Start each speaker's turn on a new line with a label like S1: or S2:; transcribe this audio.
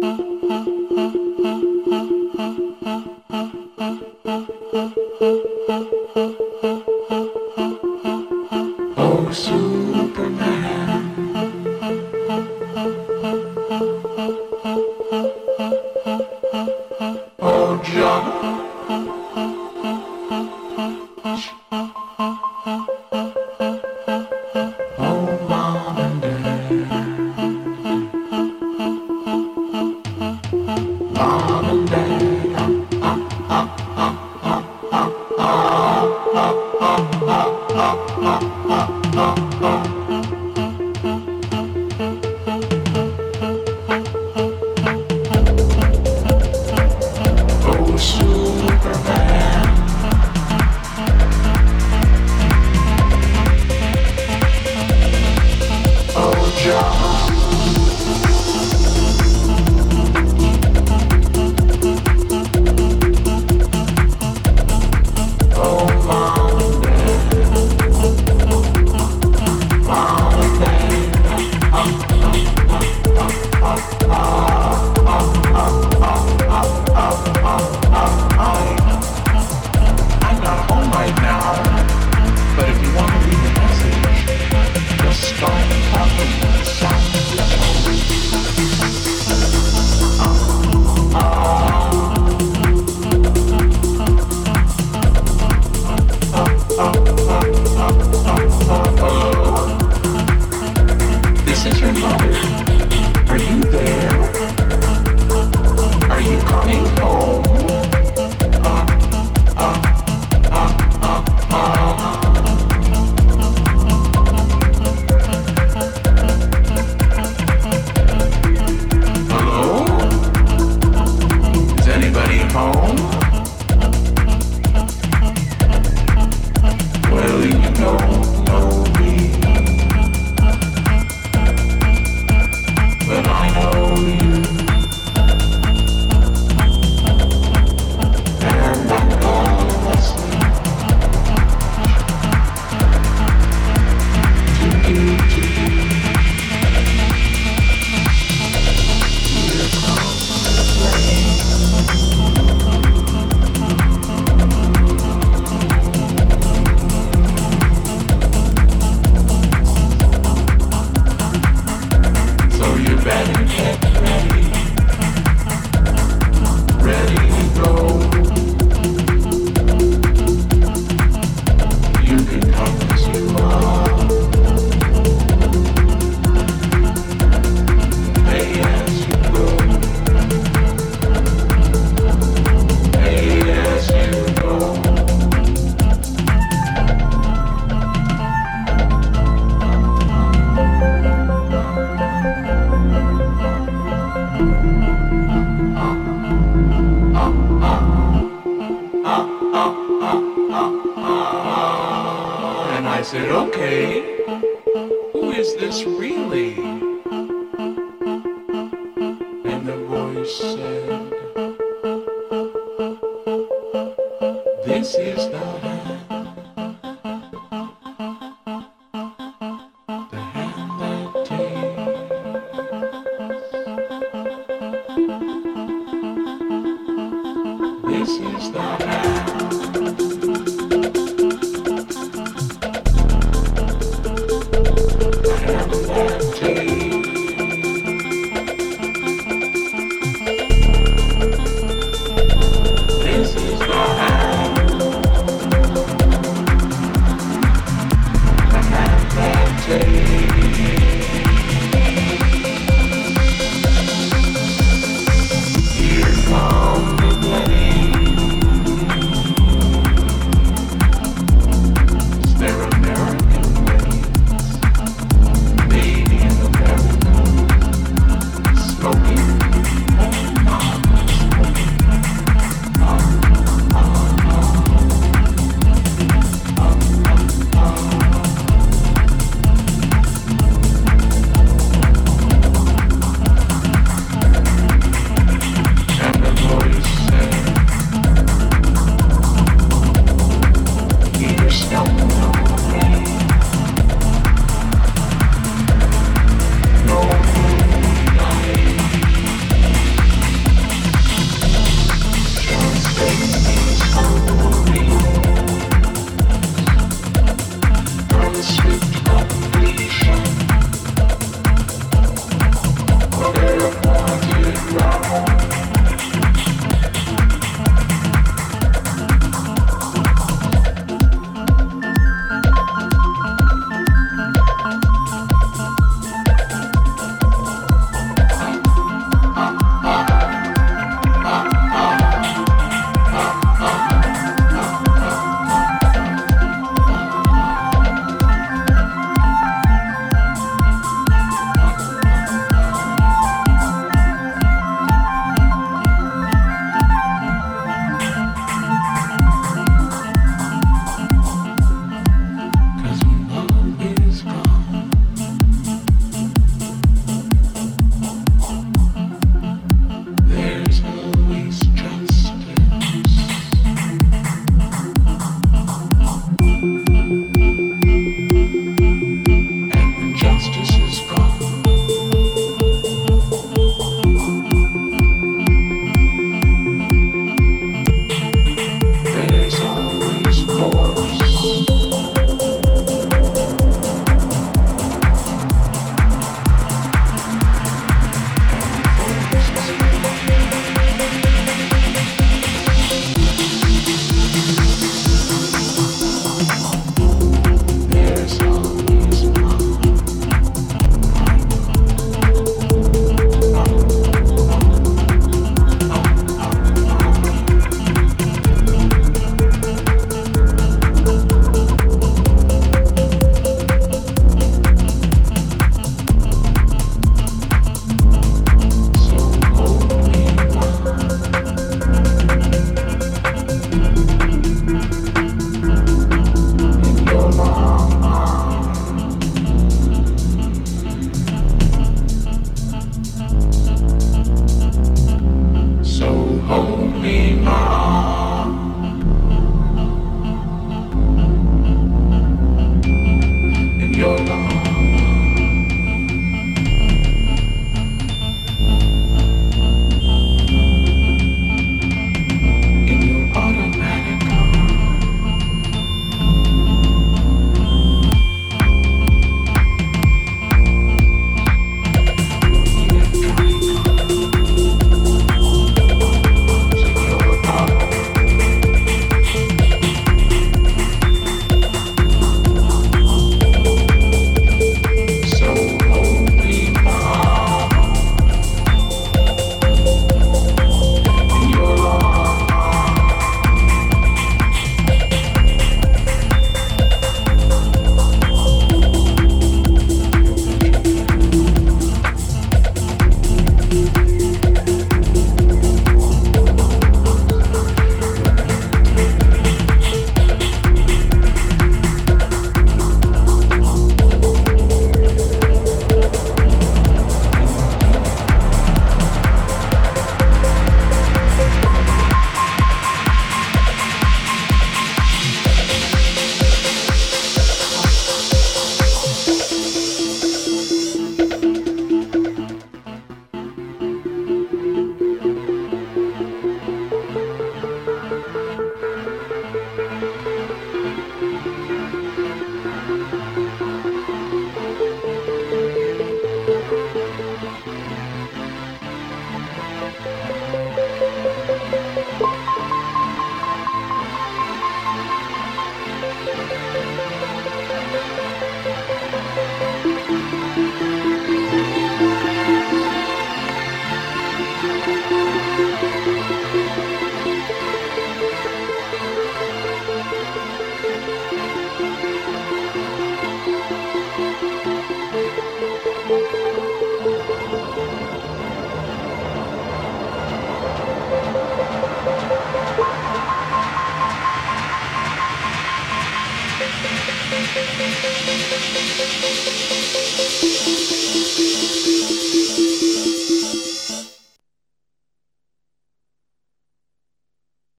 S1: Oh, Superman. Oh, John. Oh, Mom and Dad. Mom and Dad. Oh, Superman. Oh, John. Oh, Mom and Dad. Mom and Dad. I'm not home right now, but if you want to leave a message, just start talking with the sound of your phone. Hello, this is your mother. Are you there? Are you coming home? Hello? Is anybody home? Well, you don't know me, but I know you, and I'm gonna listen to you. Here comes the rain. So you better get ready, ready to go. You can come as you are, pay as you go, pay as you go. And I said, okay, who is this really? And the voice said, this is the hand that takes. This is the hand